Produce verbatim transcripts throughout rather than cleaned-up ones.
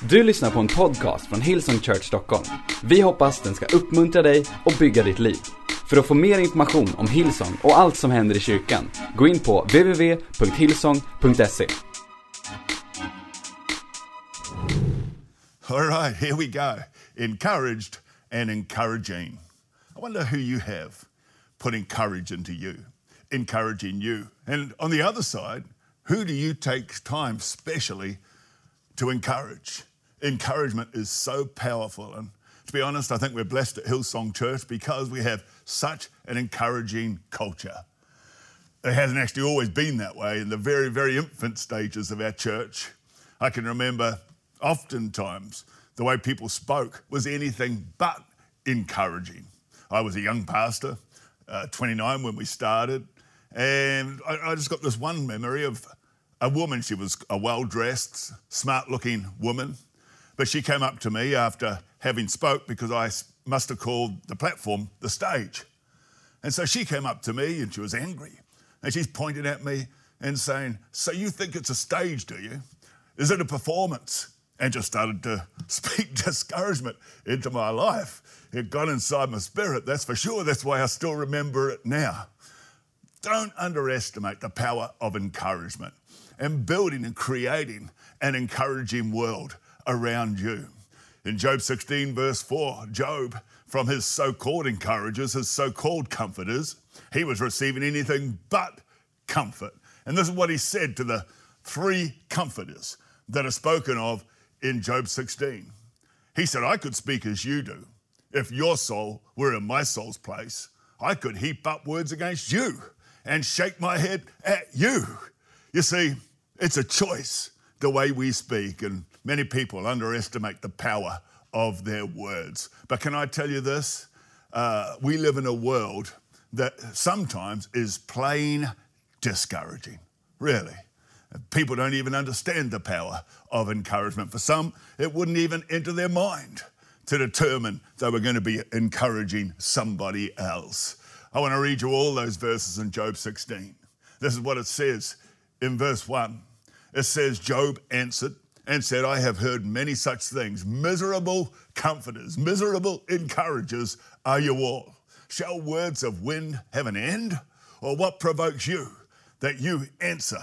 Du lyssnar på en podcast från Hillsong Church Stockholm. Vi hoppas den ska uppmuntra dig och bygga ditt liv. För att få mer information om Hillsong och allt som händer i kyrkan, gå in på w w w punkt hillsong punkt se. All right, here we go. Encouraged and encouraging. I wonder who you have putting courage into you, encouraging you. And on the other side, who do you take time specially to encourage? Encouragement is so powerful. And to be honest, I think we're blessed at Hillsong Church because we have such an encouraging culture. It hasn't actually always been that way in the very, very infant stages of our church. I can remember oftentimes the way people spoke was anything but encouraging. I was a young pastor, uh, twenty-nine when we started, and I, I just got this one memory of a woman. She was a well-dressed, smart-looking woman, but she came up to me after having spoke because I must have called the platform the stage. And so she came up to me and she was angry, and she's pointing at me and saying, "So you think it's a stage, do you? Is it a performance?" And just started to speak discouragement into my life. It got inside my spirit, that's for sure. That's why I still remember it now. Don't underestimate the power of encouragement and building and creating an encouraging world around you. In Job sixteen, verse four, Job, from his so-called encouragers, his so-called comforters, he was receiving anything but comfort. And this is what he said to the three comforters that are spoken of in Job sixteen. He said, "I could speak as you do. If your soul were in my soul's place, I could heap up words against you and shake my head at you." You see, it's a choice, the way we speak, and many people underestimate the power of their words. But can I tell you this? Uh, we live in a world that sometimes is plain discouraging, really. People don't even understand the power of encouragement. For some, it wouldn't even enter their mind to determine they were going to be encouraging somebody else. I want to read you all those verses in Job sixteen. This is what it says in verse one. It says, "Job answered and said, I have heard many such things. Miserable comforters, miserable encouragers are you all. Shall words of wind have an end? Or what provokes you that you answer?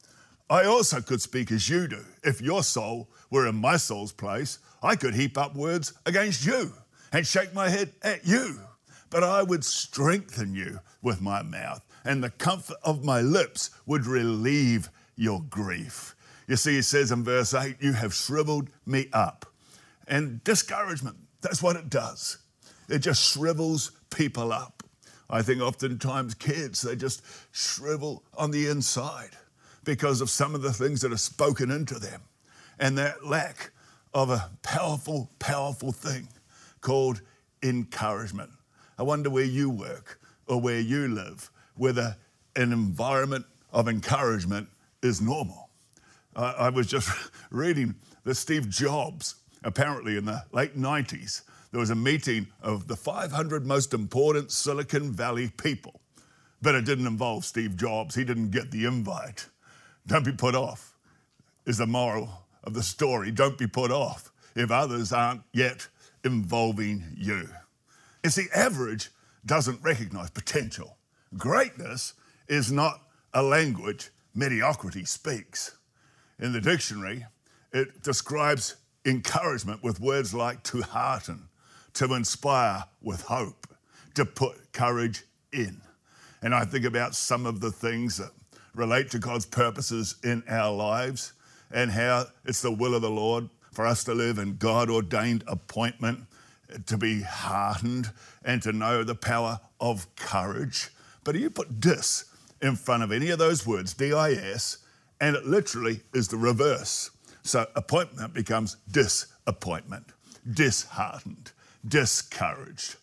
I also could speak as you do. If your soul were in my soul's place, I could heap up words against you and shake my head at you. But I would strengthen you with my mouth, and the comfort of my lips would relieve your grief." You see, it says in verse eight, "You have shriveled me up." And discouragement, that's what it does. It just shrivels people up. I think oftentimes kids, they just shrivel on the inside because of some of the things that are spoken into them and that lack of a powerful, powerful thing called encouragement. I wonder where you work or where you live, whether an environment of encouragement is normal. Uh, I was just reading that Steve Jobs, apparently in the late nineties, there was a meeting of the five hundred most important Silicon Valley people, but it didn't involve Steve Jobs. He didn't get the invite. Don't be put off is the moral of the story. Don't be put off if others aren't yet involving you. You see, average doesn't recognize potential. Greatness is not a language mediocrity speaks. In the dictionary, it describes encouragement with words like to hearten, to inspire with hope, to put courage in. And I think about some of the things that relate to God's purposes in our lives and how it's the will of the Lord for us to live in God-ordained appointment, to be heartened and to know the power of courage. But you put dis in front of any of those words, D I S, and it literally is the reverse. So appointment becomes disappointment, disheartened, discouraged.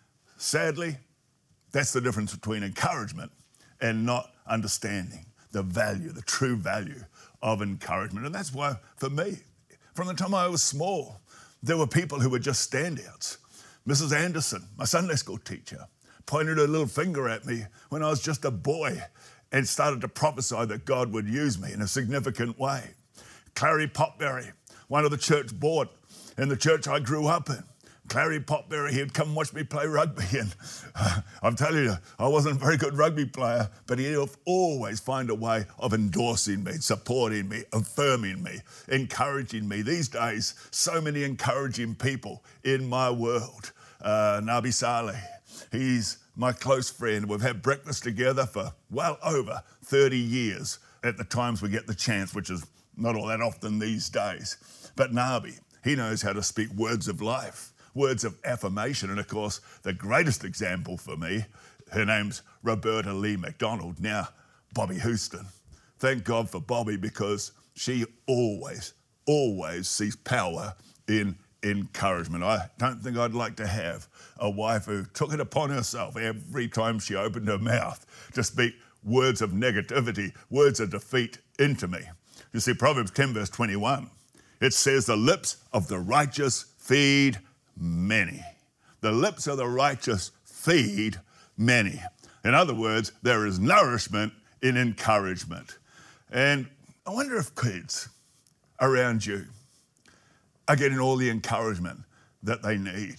Sadly, that's the difference between encouragement and not understanding the value, the true value of encouragement. And that's why, for me, from the time I was small, there were people who were just standouts. Missus Anderson, my Sunday school teacher, pointed her little finger at me when I was just a boy and started to prophesy that God would use me in a significant way. Clary Potberry one of the church board in the church I grew up in. Clary Potberry, he'd come watch me play rugby, and uh, I'm telling you, I wasn't a very good rugby player, but he'd always find a way of endorsing me, supporting me, affirming me, encouraging me. These days, so many encouraging people in my world. Uh, Nabi Saleh, he's my close friend. We've had breakfast together for well over thirty years at the times we get the chance, which is not all that often these days. But Nabi, he knows how to speak words of life, words of affirmation. And of course, the greatest example for me, her name's Roberta Lee McDonald, now Bobby Houston. Thank God for Bobby, because she always, always sees power in encouragement. I don't think I'd like to have a wife who took it upon herself every time she opened her mouth to speak words of negativity, words of defeat into me. You see, Proverbs ten verse twenty-one, it says, the lips of the righteous feed many. The lips of the righteous feed many. In other words, there is nourishment in encouragement. And I wonder if kids around you are getting all the encouragement that they need.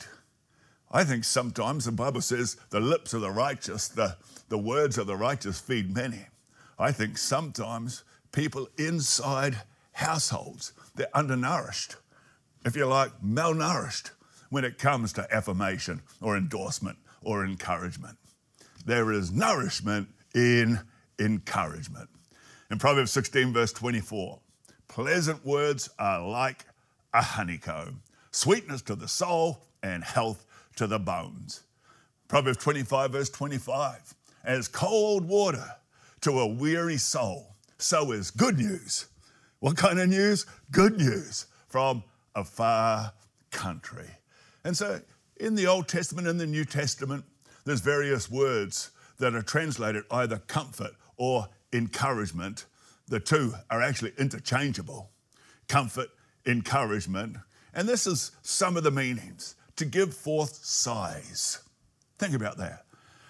I think sometimes the Bible says the lips of the righteous, the, the words of the righteous feed many. I think sometimes people inside households, they're undernourished, if you like, malnourished when it comes to affirmation or endorsement or encouragement. There is nourishment in encouragement. In Proverbs sixteen verse twenty-four, pleasant words are like a honeycomb, sweetness to the soul and health to the bones. Proverbs twenty-five verse twenty-five, as cold water to a weary soul, so is good news. What kind of news? Good news from a far country. And so in the Old Testament and the New Testament, there's various words that are translated either comfort or encouragement. The two are actually interchangeable. Comfort, encouragement. And this is some of the meanings. To give forth sighs. Think about that.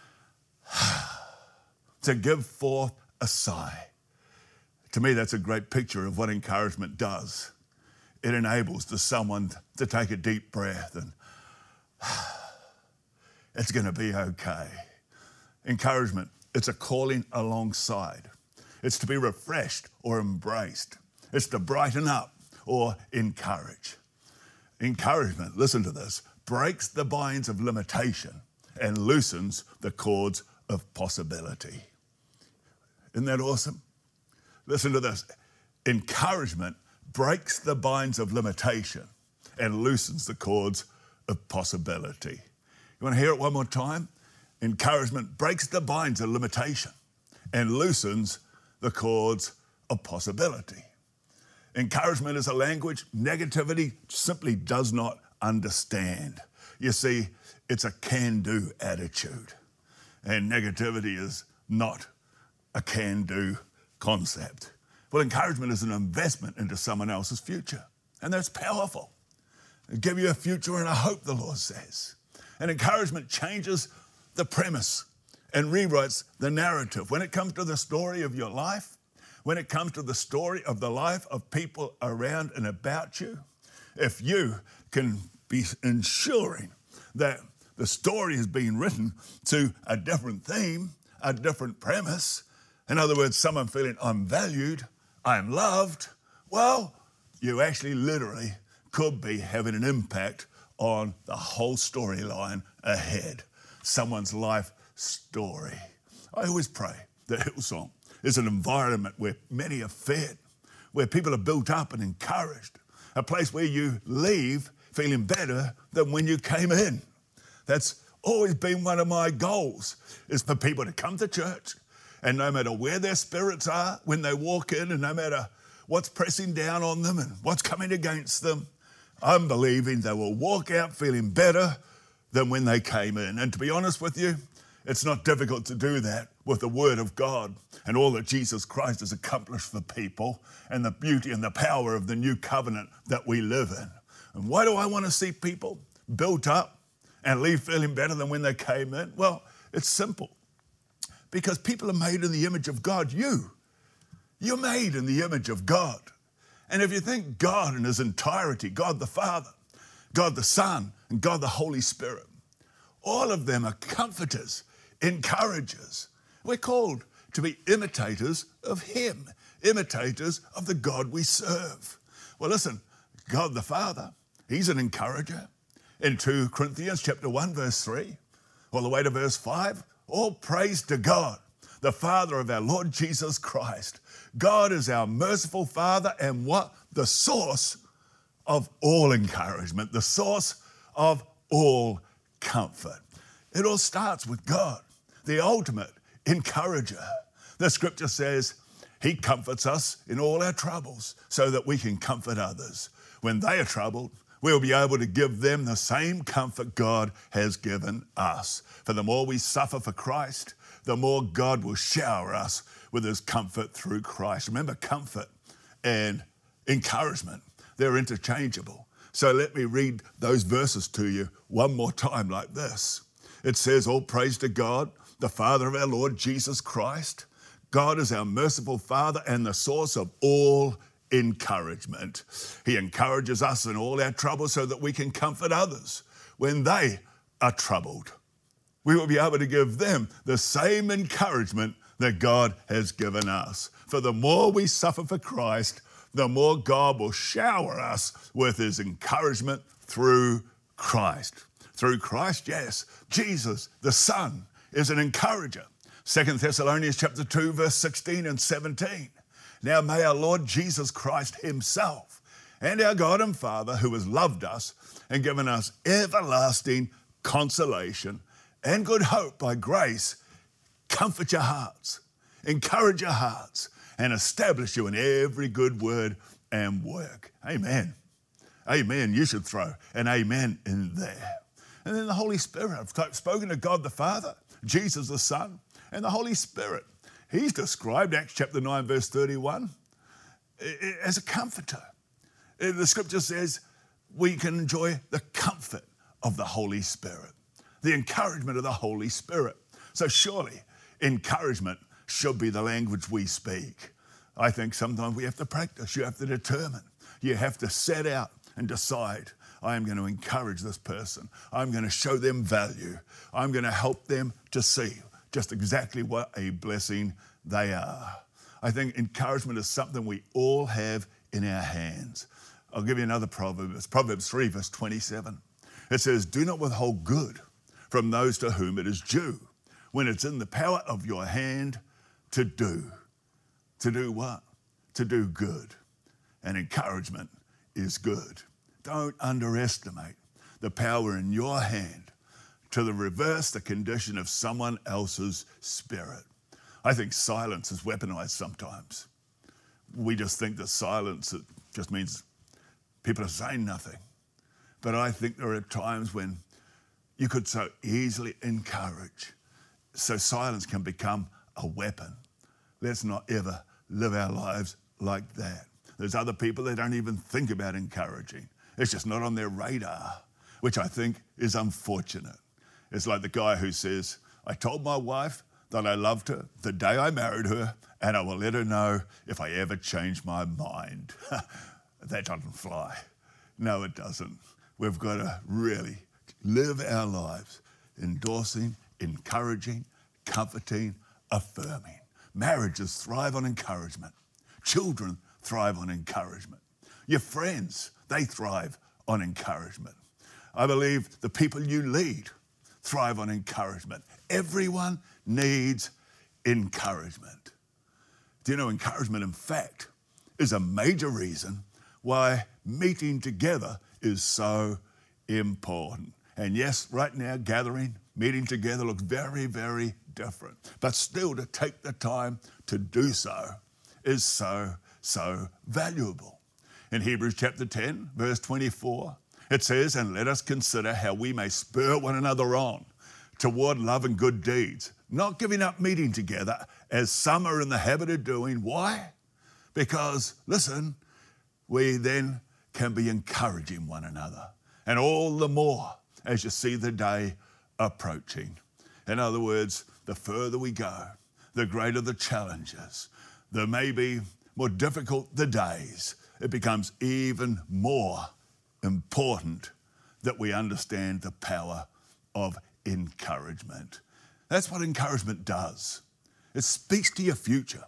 To give forth a sigh. To me, that's a great picture of what encouragement does. It enables the someone to take a deep breath and it's going to be okay. Encouragement, it's a calling alongside. It's to be refreshed or embraced. It's to brighten up or encourage. Encouragement, listen to this, breaks the binds of limitation and loosens the cords of possibility. Isn't that awesome? Listen to this. Encouragement breaks the binds of limitation and loosens the cords of possibility. You want to hear it one more time? Encouragement breaks the binds of limitation and loosens the cords of possibility. Encouragement is a language negativity simply does not understand. You see, it's a can-do attitude, and negativity is not a can-do concept. Well, encouragement is an investment into someone else's future, and that's powerful. It'll give you a future and a hope, the Lord says. And encouragement changes the premise and rewrites the narrative. When it comes to the story of your life, when it comes to the story of the life of people around and about you, if you can be ensuring that the story is being written to a different theme, a different premise, in other words, someone feeling I'm valued, I'm loved, well, you actually literally could be having an impact on the whole storyline ahead, someone's life story. I always pray that Hillsong is an environment where many are fed, where people are built up and encouraged, a place where you leave feeling better than when you came in. That's always been one of my goals, is for people to come to church, and no matter where their spirits are when they walk in, and no matter what's pressing down on them and what's coming against them, I'm believing they will walk out feeling better than when they came in. And to be honest with you, it's not difficult to do that with the Word of God and all that Jesus Christ has accomplished for people and the beauty and the power of the new covenant that we live in. And why do I want to see people built up and leave feeling better than when they came in? Well, it's simple. Because people are made in the image of God. You, you're made in the image of God. And if you think God in his entirety, God the Father, God the Son, and God the Holy Spirit, all of them are comforters, encouragers. We're called to be imitators of him, imitators of the God we serve. Well, listen, God the Father, he's an encourager. In Second Corinthians chapter one, verse three, all the way to verse five, all praise to God, the Father of our Lord Jesus Christ. God is our merciful Father and what? The source of all encouragement, the source of all comfort. It all starts with God, the ultimate encourager. The scripture says he comforts us in all our troubles so that we can comfort others. When they are troubled, we'll be able to give them the same comfort God has given us. For the more we suffer for Christ, the more God will shower us with his comfort through Christ. Remember, comfort and encouragement, they're interchangeable. So let me read those verses to you one more time like this. It says, all praise to God, the Father of our Lord Jesus Christ. God is our merciful Father and the source of all encouragement. He encourages us in all our troubles so that we can comfort others when they are troubled. We will be able to give them the same encouragement that God has given us. For the more we suffer for Christ, the more God will shower us with his encouragement through Christ. Through Christ, yes, Jesus, the Son, is an encourager. Second Thessalonians chapter two, verse sixteen and seventeen. Now may our Lord Jesus Christ himself and our God and Father, who has loved us and given us everlasting consolation and good hope by grace, comfort your hearts, encourage your hearts, and establish you in every good word and work. Amen. Amen. You should throw an amen in there. And then the Holy Spirit. I've spoken to God the Father, Jesus the Son, and the Holy Spirit. He's described, Acts chapter nine, verse thirty-one, as a comforter. The scripture says we can enjoy the comfort of the Holy Spirit, the encouragement of the Holy Spirit. So surely encouragement should be the language we speak. I think sometimes we have to practice. You have to determine. You have to set out and decide, I am going to encourage this person. I'm going to show them value. I'm going to help them to see just exactly what a blessing they are. I think encouragement is something we all have in our hands. I'll give you another proverb. It's Proverbs three, verse twenty-seven. It says, do not withhold good from those to whom it is due, when it's in the power of your hand to do. To do what? To do good. And encouragement is good. Don't underestimate the power in your hand to the reverse the condition of someone else's spirit. I think silence is weaponized sometimes. We just think that silence, it just means people are saying nothing. But I think there are times when you could so easily encourage. So silence can become a weapon. Let's not ever live our lives like that. There's other people that don't even think about encouraging. It's just not on their radar, which I think is unfortunate. It's like the guy who says, I told my wife that I loved her the day I married her, and I will let her know if I ever change my mind. That doesn't fly. No, it doesn't. We've got to really live our lives endorsing, encouraging, comforting, affirming. Marriages thrive on encouragement. Children thrive on encouragement. Your friends, they thrive on encouragement. I believe the people you lead thrive on encouragement. Everyone needs encouragement. Do you know encouragement, in fact, is a major reason why meeting together is so important. And yes, right now, gathering, meeting together looks very, very different. But still, to take the time to do so is so, so valuable. In Hebrews chapter ten, verse twenty-four, it says, and let us consider how we may spur one another on toward love and good deeds, not giving up meeting together as some are in the habit of doing. Why? Because, listen, we then can be encouraging one another, and all the more as you see the day approaching. In other words, the further we go, the greater the challenges, the maybe more difficult the days, it becomes even more important that we understand the power of encouragement. That's what encouragement does. It speaks to your future.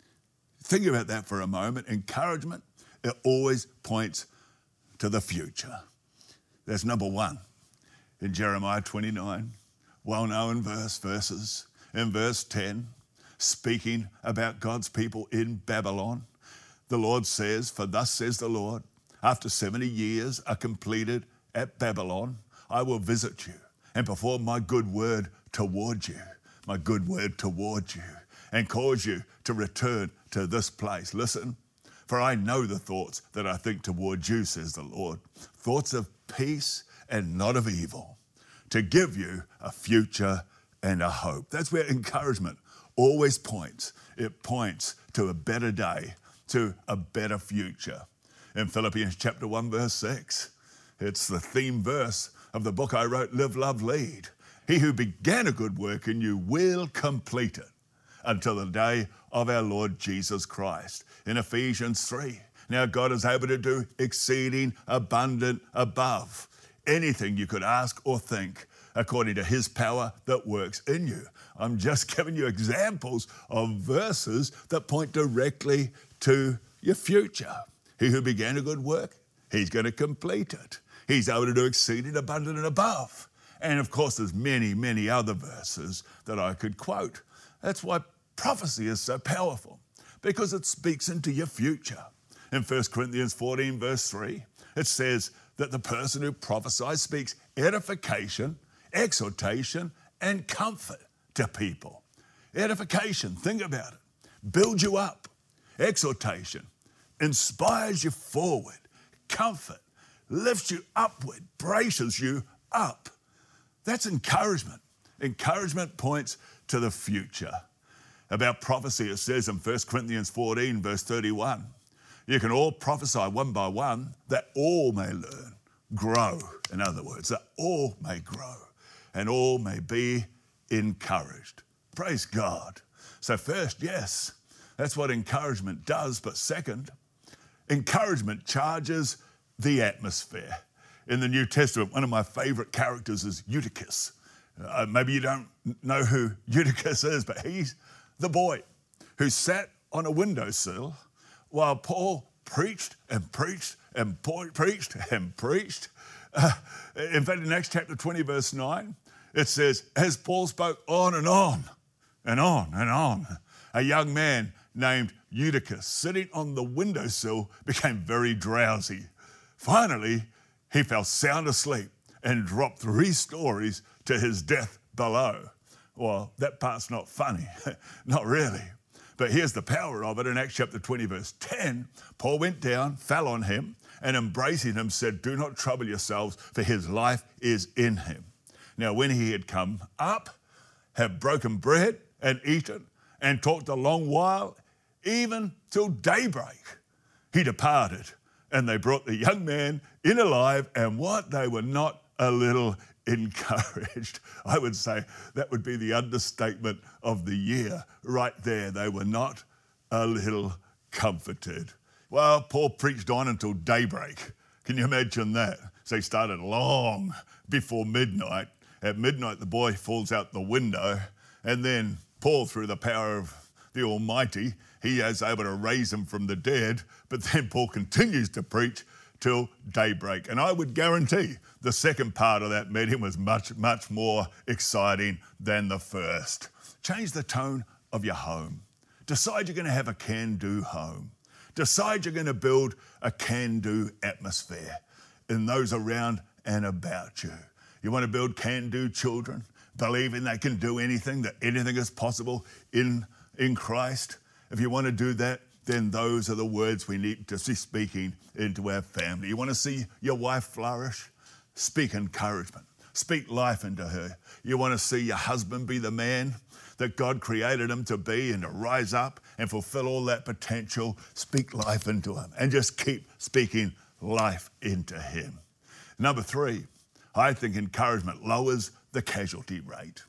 Think about that for a moment. Encouragement, it always points to the future. That's number one. In Jeremiah twenty-nine, well-known verse, verses, in verse ten, speaking about God's people in Babylon, the Lord says, for thus says the Lord, after seventy years are completed at Babylon, I will visit you and perform my good word toward you, my good word toward you, and cause you to return to this place. Listen, for I know the thoughts that I think toward you, says the Lord, thoughts of peace and not of evil, to give you a future and a hope. That's where encouragement always points. It points to a better day, to a better future. In Philippians chapter one, verse six, it's the theme verse of the book I wrote, Live, Love, Lead. He who began a good work in you will complete it until the day of our Lord Jesus Christ. In Ephesians three, now God is able to do exceeding abundant above anything you could ask or think, according to his power that works in you. I'm just giving you examples of verses that point directly to your future. He who began a good work, he's going to complete it. He's able to do exceeding abundant and above. And of course, there's many, many other verses that I could quote. That's why prophecy is so powerful, because it speaks into your future. In First Corinthians fourteen, verse three, it says that the person who prophesies speaks edification, exhortation, and comfort to people. Edification, think about it, builds you up. Exhortation inspires you forward. Comfort lifts you upward, braces you up. That's encouragement. Encouragement points to the future. About prophecy, it says in First Corinthians fourteen, verse thirty-one, you can all prophesy one by one, that all may learn, grow. In other words, that all may grow and all may be encouraged. Praise God. So first, yes, that's what encouragement does. But second, encouragement charges the atmosphere. In the New Testament, one of my favorite characters is Eutychus. Uh, maybe you don't know who Eutychus is, but he's the boy who sat on a windowsill while Paul preached and preached and po- preached and preached. Uh, in fact, in Acts chapter twenty, verse nine, it says, as Paul spoke on and on and on and on, a young man named Eutychus, sitting on the windowsill, became very drowsy. Finally, he fell sound asleep and dropped three stories to his death below. Well, that part's not funny, not really. But here's the power of it. In Acts chapter twenty, verse ten, Paul went down, fell on him, and embracing him said, do not trouble yourselves, for his life is in him. Now, when he had come up, had broken bread and eaten, and talked a long while, even till daybreak, he departed. And they brought the young man in alive, and what? They were not a little encouraged. I would say that would be the understatement of the year right there. They were not a little comforted. Well, Paul preached on until daybreak. Can you imagine that? So he started long before midnight. At midnight, the boy falls out the window, and then Paul, through the power of the Almighty, he is able to raise him from the dead. But then Paul continues to preach till daybreak. And I would guarantee the second part of that meeting was much, much more exciting than the first. Change the tone of your home. Decide you're going to have a can-do home. Decide you're going to build a can-do atmosphere in those around and about you. You want to build can-do children, believing they can do anything, that anything is possible in, in Christ. If you want to do that, then those are the words we need to be speaking into our family. You want to see your wife flourish? Speak encouragement. Speak life into her. You want to see your husband be the man that God created him to be and to rise up and fulfill all that potential? Speak life into him and just keep speaking life into him. Number three, I think encouragement lowers the casualty rate.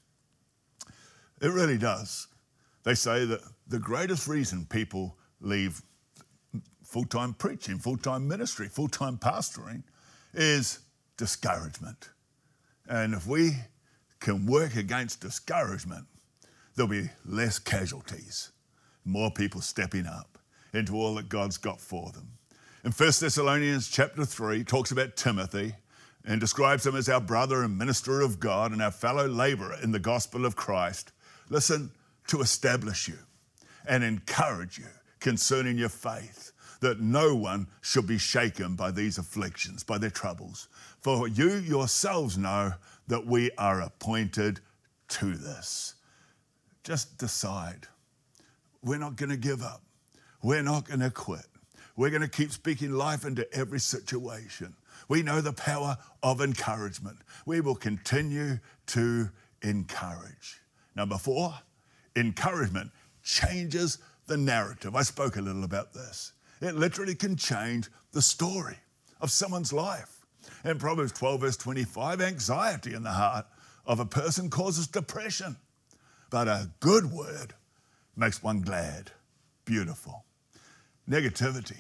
It really does. They say that the greatest reason people leave full-time preaching, full-time ministry, full-time pastoring is discouragement. And if we can work against discouragement, there'll be less casualties, more people stepping up into all that God's got for them. In First Thessalonians chapter three, talks about Timothy and describes him as our brother and minister of God and our fellow laborer in the gospel of Christ. Listen, to establish you and encourage you concerning your faith, that no one should be shaken by these afflictions, by their troubles. For you yourselves know that we are appointed to this. Just decide. We're not going to give up. We're not going to quit. We're going to keep speaking life into every situation. We know the power of encouragement. We will continue to encourage. Number four, encouragement changes the narrative. I spoke a little about this. It literally can change the story of someone's life. In Proverbs twelve, verse twenty-five, anxiety in the heart of a person causes depression, but a good word makes one glad. Beautiful. Negativity.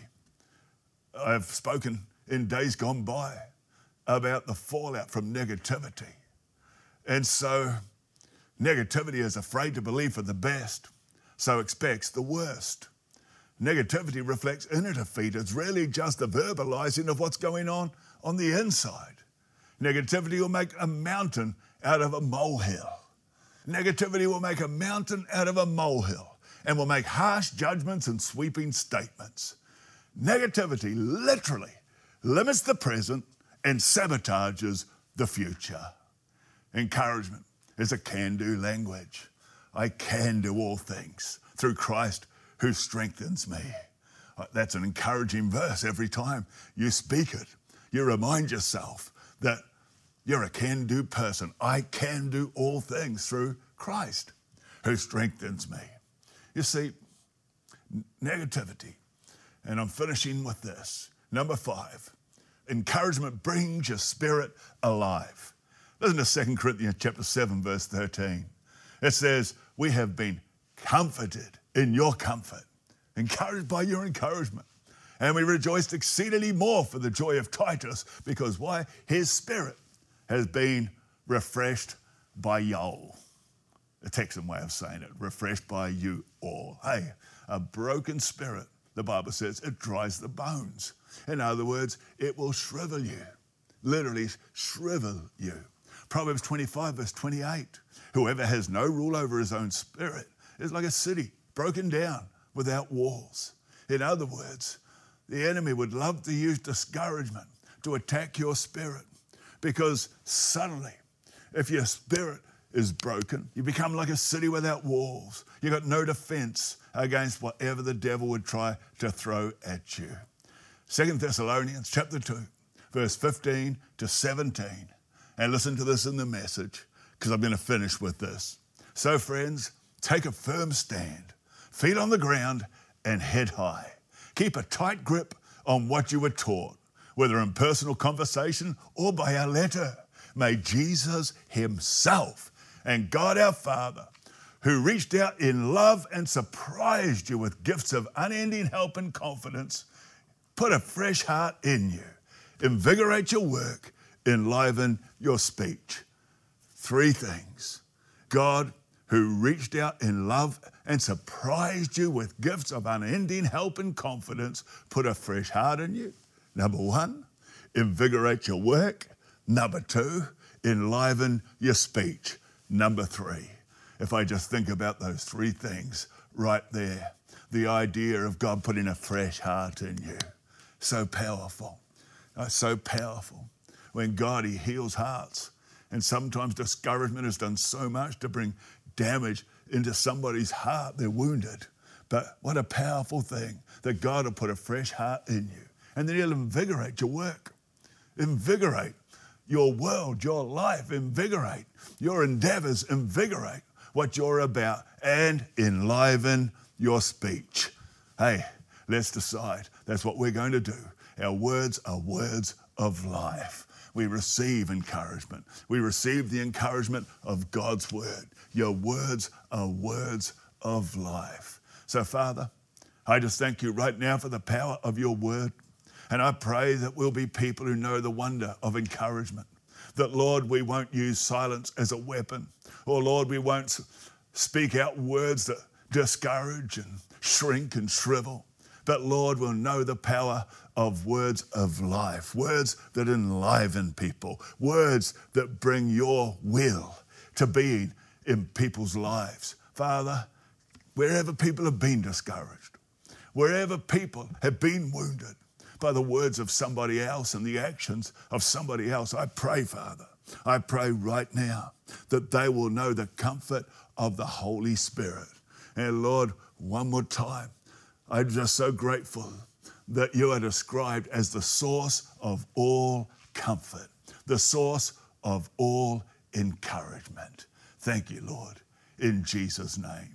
I've spoken in days gone by about the fallout from negativity. And so negativity is afraid to believe for the best, so expects the worst. Negativity reflects inner defeat. It's really just a verbalizing of what's going on on the inside. Negativity will make a mountain out of a molehill. Negativity will make a mountain out of a molehill and will make harsh judgments and sweeping statements. Negativity literally limits the present and sabotages the future. Encouragement is a can-do language. I can do all things through Christ who strengthens me. That's an encouraging verse. Every time you speak it, you remind yourself that you're a can-do person. I can do all things through Christ who strengthens me. You see, negativity, and I'm finishing with this. Number five, encouragement brings your spirit alive. Listen to Second Corinthians chapter seven, verse thirteen. It says, we have been comforted in your comfort, encouraged by your encouragement. And we rejoiced exceedingly more for the joy of Titus, because why? His spirit has been refreshed by y'all. A Texan way of saying it, refreshed by you all. Hey, a broken spirit, the Bible says, it dries the bones. In other words, it will shrivel you, literally shrivel you. Proverbs twenty-five, verse twenty-eight, whoever has no rule over his own spirit is like a city broken down without walls. In other words, the enemy would love to use discouragement to attack your spirit, because suddenly, if your spirit is broken, you become like a city without walls. You got no defense against whatever the devil would try to throw at you. Second Thessalonians chapter two, verse fifteen to seventeen. And listen to this in the Message, because I'm going to finish with this. So friends, take a firm stand, feet on the ground and head high. Keep a tight grip on what you were taught, whether in personal conversation or by our letter. May Jesus himself and God our Father, who reached out in love and surprised you with gifts of unending help and confidence, put a fresh heart in you, invigorate your work, enliven your speech. Three things. God, who reached out in love and surprised you with gifts of unending help and confidence, put a fresh heart in you. Number one, invigorate your work. Number two, enliven your speech. Number three, if I just think about those three things right there, the idea of God putting a fresh heart in you. So powerful, uh, so powerful. When God, he heals hearts. And sometimes discouragement has done so much to bring damage into somebody's heart. They're wounded. But what a powerful thing that God will put a fresh heart in you. And then he'll invigorate your work. Invigorate your world, your life. Invigorate your endeavors. Invigorate what you're about. And enliven your speech. Hey, let's decide. That's what we're going to do. Our words are words of life. We receive encouragement. We receive the encouragement of God's word. Your words are words of life. So, Father, I just thank you right now for the power of your word. And I pray that we'll be people who know the wonder of encouragement. That, Lord, we won't use silence as a weapon. Or, Lord, we won't speak out words that discourage and shrink and shrivel. But, Lord, we'll know the power of words of life, words that enliven people, words that bring your will to being in people's lives. Father, wherever people have been discouraged, wherever people have been wounded by the words of somebody else and the actions of somebody else, I pray, Father, I pray right now that they will know the comfort of the Holy Spirit. And Lord, one more time, I'm just so grateful that you are described as the source of all comfort, the source of all encouragement. Thank you, Lord, in Jesus' name.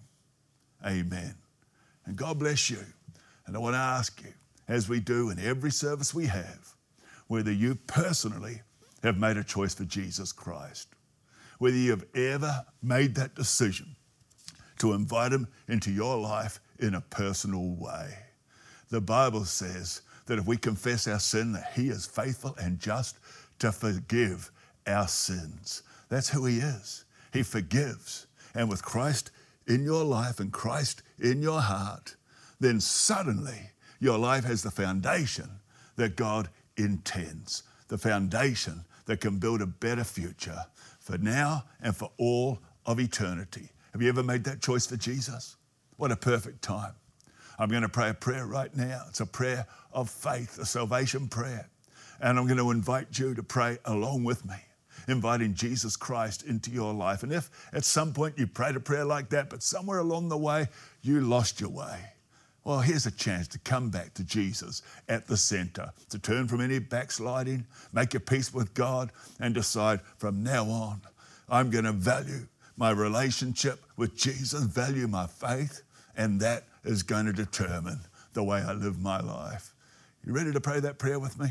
Amen. And God bless you. And I want to ask you, as we do in every service we have, whether you personally have made a choice for Jesus Christ, whether you have ever made that decision to invite him into your life in a personal way. The Bible says that if we confess our sin, that he is faithful and just to forgive our sins. That's who he is. He forgives. And with Christ in your life and Christ in your heart, then suddenly your life has the foundation that God intends, the foundation that can build a better future for now and for all of eternity. Have you ever made that choice for Jesus? What a perfect time. I'm going to pray a prayer right now. It's a prayer of faith, a salvation prayer. And I'm going to invite you to pray along with me, inviting Jesus Christ into your life. And if at some point you prayed a prayer like that, but somewhere along the way you lost your way, well, here's a chance to come back to Jesus at the center, to turn from any backsliding, make your peace with God, and decide from now on, I'm going to value my relationship with Jesus, value my faith, and that is going to determine the way I live my life. You ready to pray that prayer with me?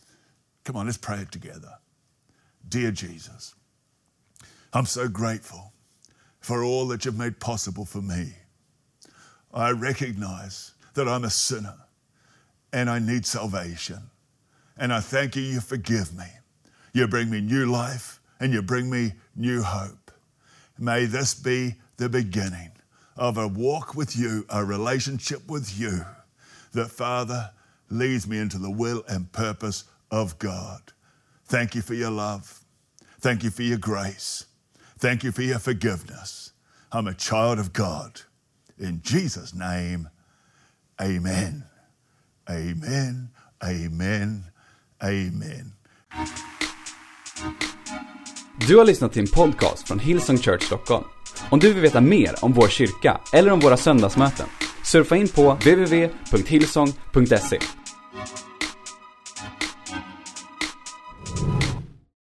Come on, let's pray it together. Dear Jesus, I'm so grateful for all that you've made possible for me. I recognize that I'm a sinner and I need salvation. And I thank you, you forgive me. You bring me new life and you bring me new hope. May this be the beginning of a walk with you, a relationship with you, that, Father, leads me into the will and purpose of God. Thank you for your love. Thank you for your grace. Thank you for your forgiveness. I'm a child of God. In Jesus' name, amen. Amen, amen, amen. Du har lyssnat till en podcast från Hillsong Church Stockholm. Om du vill veta mer om vår kyrka eller om våra söndagsmöten, surfa in på w w w punkt hillsong punkt se.